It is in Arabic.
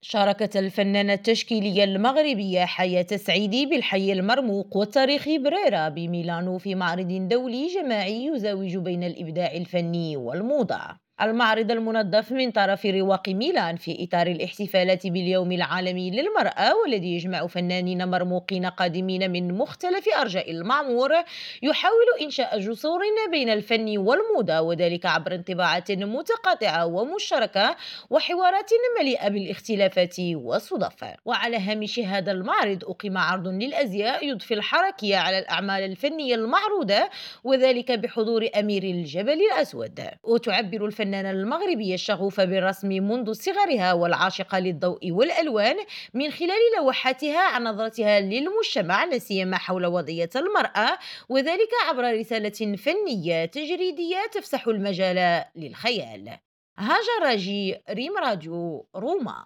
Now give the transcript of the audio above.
شاركت الفنانة التشكيلية المغربية حياة السعيدي بالحي المرموق والتاريخي بريرا بميلانو في معرض دولي جماعي يزاوج بين الإبداع الفني والموضة. المعرض المنظف من طرف رواق ميلان في إطار الاحتفالات باليوم العالمي للمرأة، والذي يجمع فنانين مرموقين قادمين من مختلف أرجاء المعمور، يحاول إنشاء جسور بين الفن والموضة، وذلك عبر انطباعات متقاطعة ومشتركة وحوارات مليئة بالاختلافات والصدف. وعلى هامش هذا المعرض أقيم عرض للأزياء يضفي الحركية على الأعمال الفنية المعروضة، وذلك بحضور أمير الجبل الأسود. وتعبر الفنانة المغربية الشغوفة بالرسم منذ صغرها والعاشقة للضوء والألوان من خلال لوحاتها عن نظرتها للمجتمع، لا سيما حول وضعية المرأة، وذلك عبر رسالة فنية تجريدية تفسح المجال للخيال. هاجر راجي، ريم راديو روما.